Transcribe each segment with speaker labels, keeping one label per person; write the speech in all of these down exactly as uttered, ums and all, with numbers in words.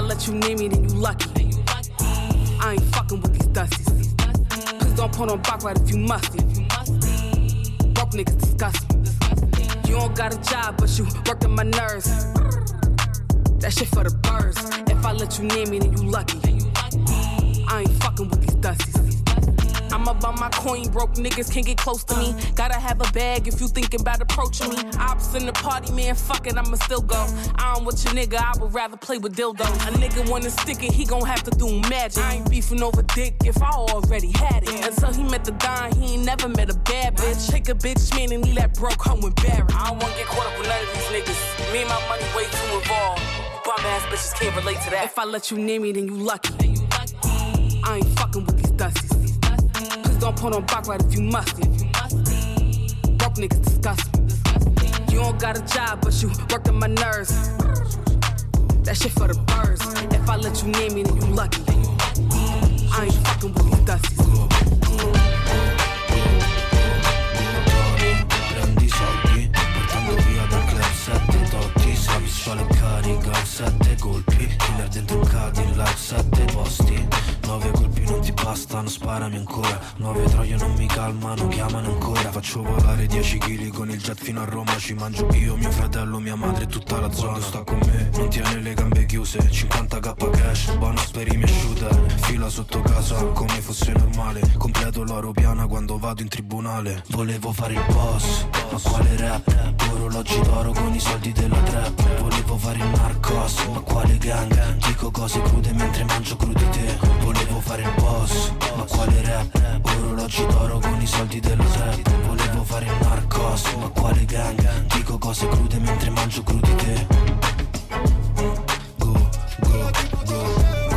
Speaker 1: let you near me, then you lucky. I ain't fucking with these dusties. Please don't put on back right if you musty. Broke niggas disgust me. You don't got a job, but you working my nerves. That shit for the birds. If I let you near me, then you lucky. I ain't fucking with these dusties. I'm about my coin, broke niggas can't get close to me. Gotta have a bag if you thinking about approaching me. Ops in the party, man, fuck it, I'ma still go. I don't with your nigga, I would rather play with dildos. A nigga wanna stick it, he gon' have to do magic. I ain't beefing over dick if I already had it. Until he met the Don, he ain't never met a bad bitch. Take a bitch, man, and leave that broke home embarrassed. I don't wanna get caught up with none of these niggas. Me and my money way too involved. Bum ass bitches can't relate to that. If I let you near me, then you lucky. I ain't fucking with these dusties. Please don't put on back right if you musty. Broke niggas disgust me. You don't got a job, but you working my nerves. That shit for the birds. If I let you near me, then you lucky. I ain't fucking with these dusties.
Speaker 2: Prendi soldi, portando via dal club sette totti. Se pistola e carica, sette colpi. Killer dentro il Cadillac, sette posti. Nove colpi non ti bastano, sparami ancora. Nove troie non mi calmano, chiamano ancora. Faccio volare dieci chili con il jet fino a Roma. Ci mangio io, mio fratello, mia madre e tutta la zona. Sta con me, non tiene le gambe chiuse. cinquanta k cash, bonus per i miei shooter. Fila sotto casa come fosse normale. Completo l'oro piana quando vado in tribunale. Volevo fare il boss, ma quale rap? Orologi d'oro con i soldi della trap. Volevo fare il narcos, ma quale gang? Dico cose crude mentre mangio crudi te. Volevo fare il boss, ma quale rap? Orologi d'oro con i soldi della trap. Volevo fare il narcos, ma quale gang? Dico cose crude mentre mangio crudi te. Go, go, go.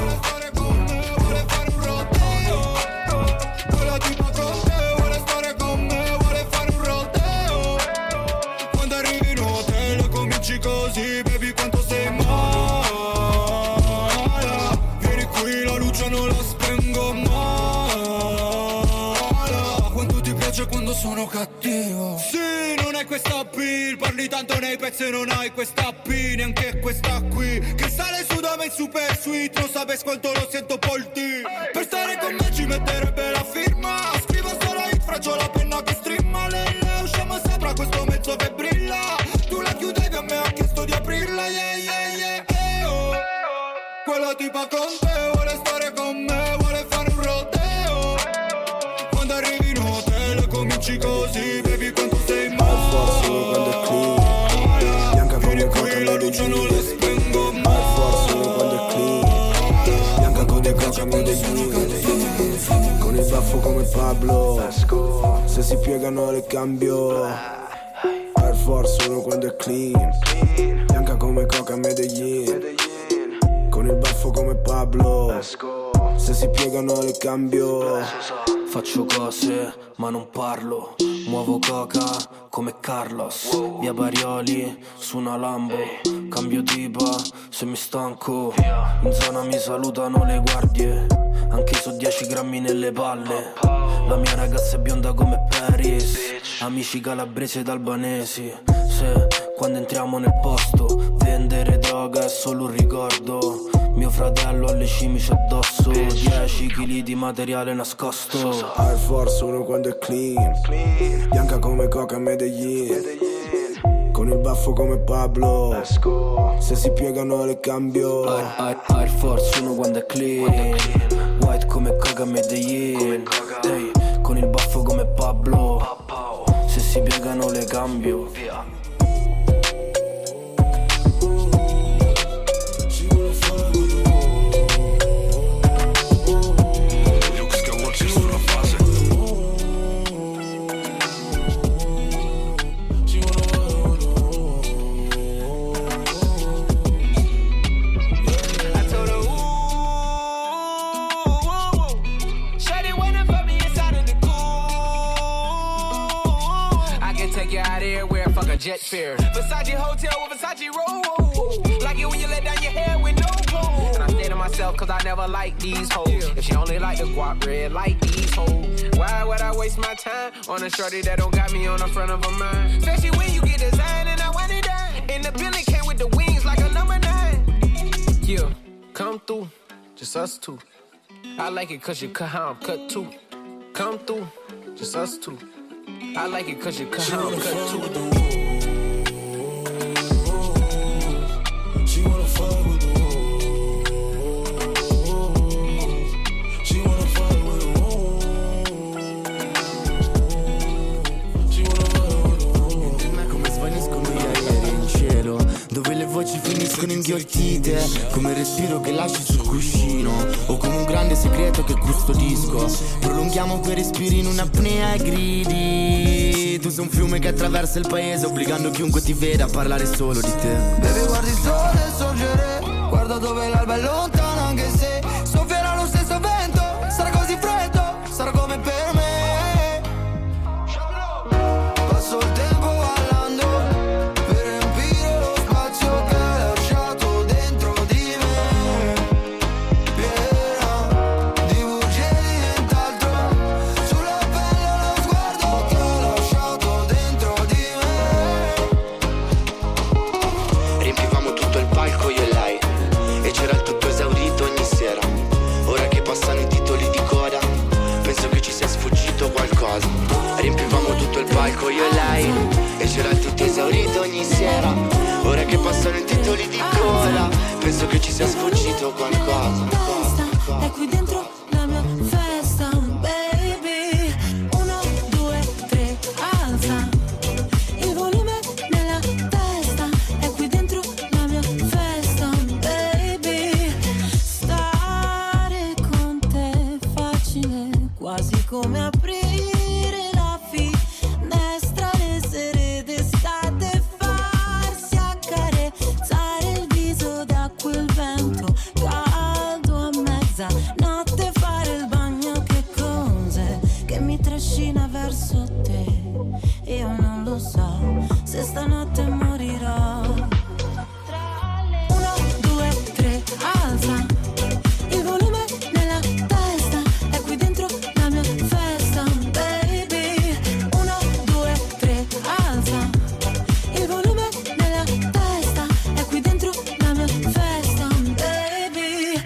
Speaker 3: Così, baby, quanto sei mala. Vieni qui, la luce non la spengo male. Quanto ti piace quando sono cattivo. Sì, non hai questa pill. Parli tanto nei pezzi e non hai questa P. Neanche questa qui, che sale su da me in super sweet. Non sapessi quanto lo sento polti. Per stare con me ci metterebbe la firma. Scrivo solo hit, faccio la penna che strimma. Lei le usciamo sopra questo mezzo che brilla. Tu la chiudevi, a me ha chiesto di aprirla, yeah, yeah, yeah, eh, oh. Quella tipa con te vuole stare con me, vuole fare un rodeo. Quando arrivi in hotel cominci così, baby, quanto sei male.
Speaker 4: Al forza quando è clean, bianca come coca
Speaker 3: la luce non la spengo mai.
Speaker 4: Al forza quando è clean, bianca come coca Medellin. Con il baffo come Pablo, se si piegano le cambio. Air Force uno quando è clean, bianca come coca Medellin. Con il baffo come Pablo, se si piegano le cambio.
Speaker 2: Faccio cose ma non parlo. Muovo coca come Carlos. Via Barioli su una Lambo. Cambio tipa se mi stanco. In zona mi salutano le guardie. Anche so dieci grammi nelle palle. La mia ragazza è bionda come Paris. Amici calabresi ed albanesi. Se quando entriamo nel posto vendere droga è solo un ricordo. Mio fratello ha le cimici addosso. Dieci chili di materiale nascosto.
Speaker 4: Air Force uno quando è clean, bianca come coca Medellin. Con il baffo come Pablo, se si piegano le cambio.
Speaker 2: Air, Air, Air Force uno quando è clean, white come coca Medellin. Hey, con il baffo come Pablo, se si piegano le cambio.
Speaker 5: Jet fare, Versace hotel with Versace roll. Like it when you let down your hair with no clothes. And I say to myself, cause I never like these hoes. If she only like the guap red, like these hoes. Why would I waste my time on a shorty that don't got me on the front of her mind? Especially when you get designed and I want it done. And the building came with the wings like a number nine. Yeah. Come through, just us two. I like it cause you cut how I'm cut too. Come through, just us two. I like it cause you cut how I'm cut too.
Speaker 4: She wanna fuck with the
Speaker 6: dove le voci finiscono inghiottite, come il respiro che lasci sul cuscino, o come un grande segreto che custodisco. Prolunghiamo quei respiri in un'apnea e gridi. Tu sei un fiume che attraversa il paese, obbligando chiunque ti veda a parlare solo di te.
Speaker 7: Baby, guardi il sole sorgere, guarda dove l'alba è lontana, anche se soffierà lo stesso vento. Sarà così freddo, sarà come per me. Passo il tempo
Speaker 6: riempivamo tutto il palco io e lei, e c'era tutto esaurito ogni sera. Ora che passano i titoli di coda, penso che ci sia sfuggito qualcosa.
Speaker 8: È qui dentro la mia festa, baby. Uno, due, tre, alza il volume nella testa. È qui dentro la mia festa, baby. Stare con te è facile, quasi come aprire notte, fare il bagno, che cose che mi trascina verso te. Io non lo so se stanotte morirò. Uno, due, tre, alza il volume nella testa. È qui dentro la mia festa, baby. Uno, due, tre, alza il volume nella testa. È qui dentro la mia festa, baby.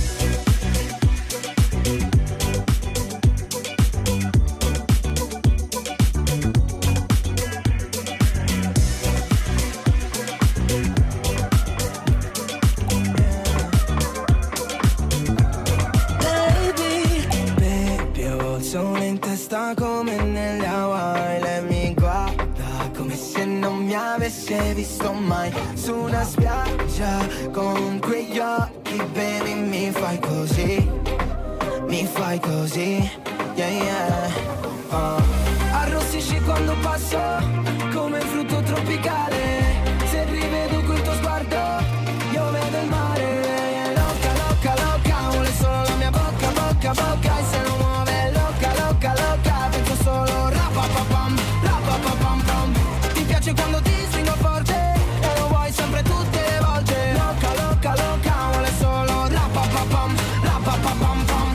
Speaker 7: Come nelle Hawaii, lei mi guarda come se non mi avesse visto mai. Su una spiaggia con quegli occhi, baby, mi fai così, mi fai così, yeah yeah. uh. Arrossisci quando passo come un frutto tropicale. Se rivedo quel tuo sguardo io vedo il mare. Loca, loca, loca, vuole solo la mia bocca, bocca, bocca. E se non muove loca, loca, loca, penso solo rapapapam, rapapapam pam. Ti piace quando ti stringo forte e lo vuoi sempre tutte le volte. Loca, loca, loca, vuole solo rapapapam, rapapapam pam.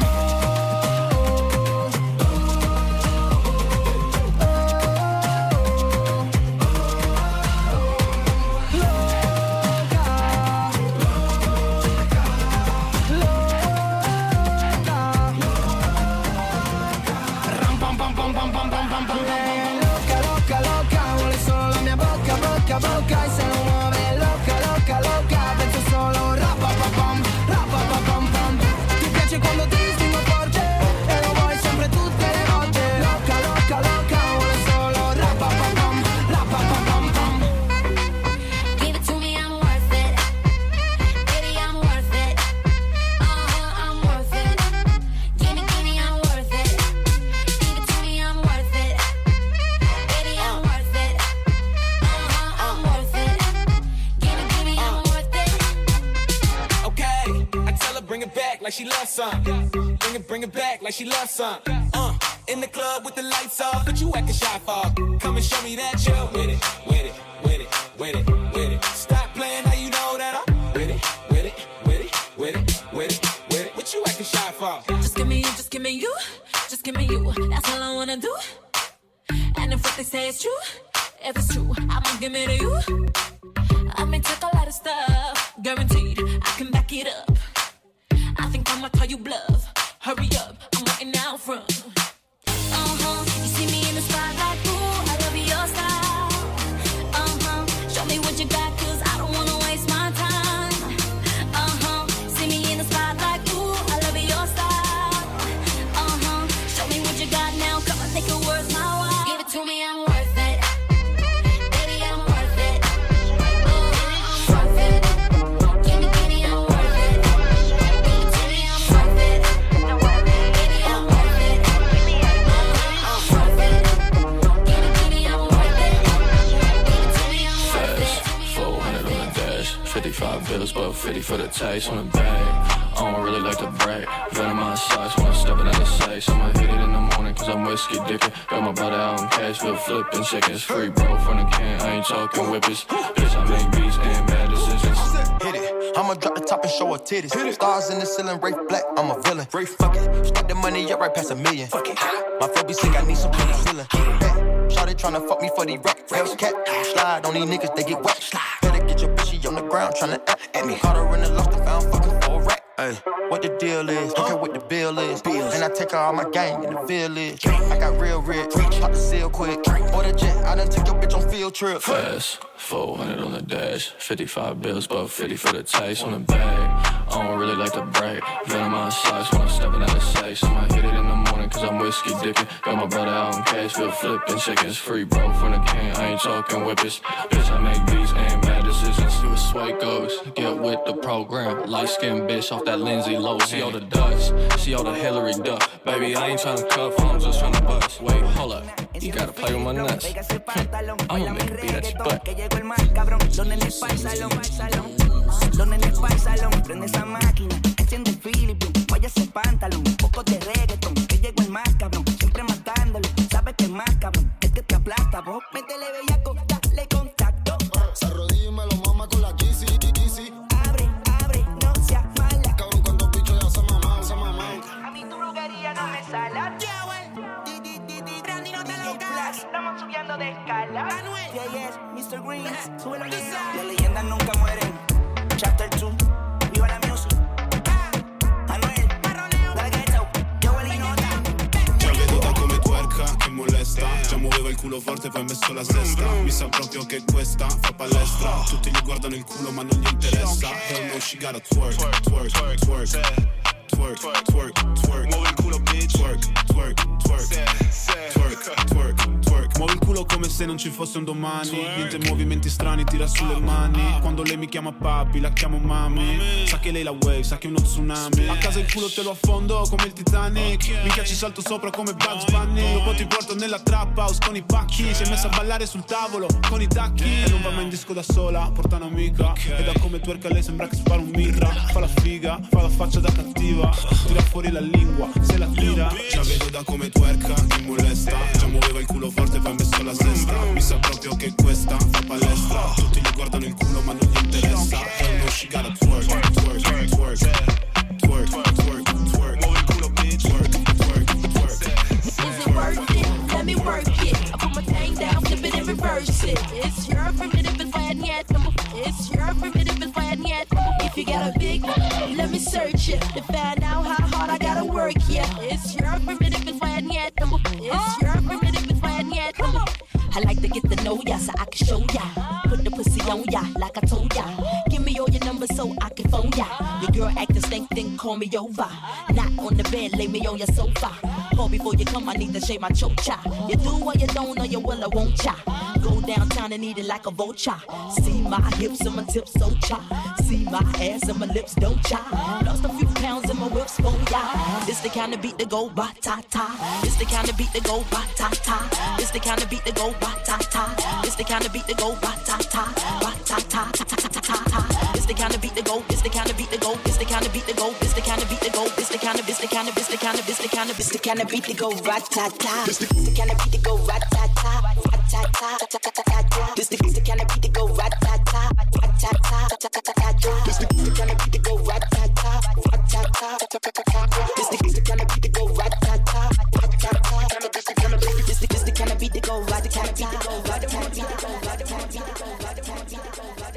Speaker 7: Bocca e se non muove loca, loca, loca, penso solo rapapapam, rapapapam pam. Ti piace quando ti stringo forte e lo vuoi sempre tutte le volte. Loca, loca, loca, vuole solo rapapapam, rapapapam pam.
Speaker 8: Give it to me, I'm worth it. Baby, I'm worth it. Uh-huh, I'm worth it. Give me, give me, I'm worth it. Give it to me, I'm worth it. Baby, I'm worth it. I'm worth it. Give it, give me, I'm worth it.
Speaker 5: Okay, I tell her bring it back like she loves some. Bring it, bring it back like she loves some. Uh, in the club with the lights off, but you acting shy for. Come and show me that you're with it, with it, with it, with it, with it. Stop playing, now you know that I'm with it, with it, with it, with it, with it, with it. What you acting shy for?
Speaker 8: Just give me you, just give me you, just give me you. That's all I wanna do. And if what they say is true, if it's true, I'ma give it to you. I may take a lot of stuff, guaranteed I can back it up. I'ma call you bluff. Hurry up, I'm waiting out front. Uh-huh, you see me in the spotlight, ooh, I love your style. Uh-huh, show me what you got, cause I don't wanna waste my time. Uh-huh, see me in the spotlight, ooh, I love your style. Uh-huh, show me what you got now, come on, take it worth my while. Give it to me, I'm worth it. Baby, I'm worth it. Uh-huh, I'm worth it. Give me, give me, I'm worth it. Give it to me, I'm worth it. Baby, I'm worth it. I'm worth it. Give me, give me, I'm worth it. Give it to me, I'm worth it.
Speaker 9: four hundred on the dash, fifty-five bills, but fifty for the taste on the bag. I don't really like to brag. Venom my size when I step it out of sight. So I'ma hit it in the morning cause I'm whiskey dipping. Got my brother out in Cashville flipping chickens. Free bro from the can, I ain't talking whippers. Bitch, I make beats and bad decisions.
Speaker 10: Hit it, I'ma drop the top and show her titties. Stars in the ceiling, Rafe Black, I'm a villain. Rafe, fuck it, stack the money up right past a million. Fuck it, my flow be sick, I need some penicillin. Shawty tryna fuck me for the rack. Hellcat, slide on these niggas, they get whacked. Better get your bitch, she on the ground tryna act at me. Caught her in the lost and found fucking for a rack. Ay, what the deal is, don't care what the bill is. And I take her all my gang in the village. I got real rich, pop the seal quick. Order jet, I done took your bitch on field trip.
Speaker 9: Fast, four hundred on the dash, fifty-five bills, but fifty for the taste on the bag. I don't really like to brag. Venom my size when I'm stepping out of sight. So I'ma hit it in the morning cause I'm whiskey dipping. Got my brother out in Cashville flipping chickens. Free bro from the can, I ain't talking whippers. Bitch, I make beats and bad decisions. You a sway goes, get with the program. Light skinned bitch off that Lindsay Lohan. See all the dust, see all the Hillary duck. Baby, I ain't tryna cuff, I'm just tryna bust. Wait, hold up, you gotta play with my nuts. I'ma make a beat at your butt.
Speaker 11: Los nenes pa'l salón, prende esa máquina, enciende el Philippine, vaya ese pantalón, poco de reggaeton, que llegó el más cabrón, siempre matándolo, sabes que es más cabrón, es que te aplasta, vos, métele bellaco, dale contacto. Se arrodilla y me lo mama con la Yeezy, Yeezy. Abre, abre, no seas mala. Cabrón, cuando bicho ya se mamá, se mamá. A mí tu brujería no me sala. Yeah, well, di, di, di, di, Randy no te lo cagas. Estamos subiendo de escala. Manuel, yeah, yes, mister Greens, súbelo al Las leyendas nunca mueren. Chapter two, viva la music. Anuel, dale ghetto, yo voy a nota.
Speaker 12: Già veduta come twerka, che molesta. Già muoveva il culo forte, poi ha messo la sesta. Mi sa proprio che questa fa palestra. Tutti gli guardano il culo ma non gli interessa. Hell no, she gotta twerk, twerk, twerk, twerk. Twerk, twerk, twerk. Muovi il culo, bitch. Twerk, twerk, twerk. Twerk, twerk, twerk. Muovi il culo come se non ci fosse un domani. Niente movimenti strani, tira sulle mani. Quando lei mi chiama papi, la chiamo mami. Sa che lei la wave, sa che è uno tsunami. A casa il culo te lo affondo come il Titanic. Minchia ci salto sopra come Bugs Bunny. Dopo ti porto nella trap house con i pacchi. Si è messa a ballare sul tavolo con i tacchi. E non va mai in disco da sola, porta un'amica. E da come twerka lei sembra che spara un mitra. Fa la figa, fa la faccia da cattiva. Tira fuori la lingua, se la tira. Già vedo da come twerka, che molesta. Già muoveva il culo forte, poi ha messo la sesta. Mi sa proprio che questa fa palestra. Tutti gli guardano il culo ma non gli interessa. Hell no, she gotta twerk, twerk, twerk, twerk. Twerk, twerk, twerk. Muovi il culo, bitch. Twerk, twerk, twerk.
Speaker 8: Is it worth it? Let me work it. I put my thing down, flip it and reverse it. It's your primitive and yet. It's your primitive and yet. If you got a big one, let me search it to find out how hard I gotta work. Yeah, it's your primitive and yet. It's your primitive and yet. I like to get to know ya so I can show ya. Put the pussy on ya like I told ya. Give me all your numbers so I can phone ya. Your girl acting stank, then call me over. Not on the bed, lay me on your sofa. Call before you come, I need to shave my chocha. You do or you don't, or you will or won't ya. Go downtown and eat it like a vulture. See my hips and my tips so cha. See my ass and my lips don't cha. Lost a few pounds in my whips for ya. This the kind of beat that go ba-ta-ta. This the kind of beat that go ba-ta-ta. This the kind of beat that go ba-ta-ta. This the kind of beat that go ba-ta-ta. Ba-ta-ta. This the kind of beat that go. This the kind of beat that go. This the kind of beat that go. This the kind of beat that go. This the kind of this the kind of this the kind of this the kind of this the kind of beat that go ba-ta-ta. This the kind of beat that go ba-ta-ta. Ba-ta-ta. This the kind of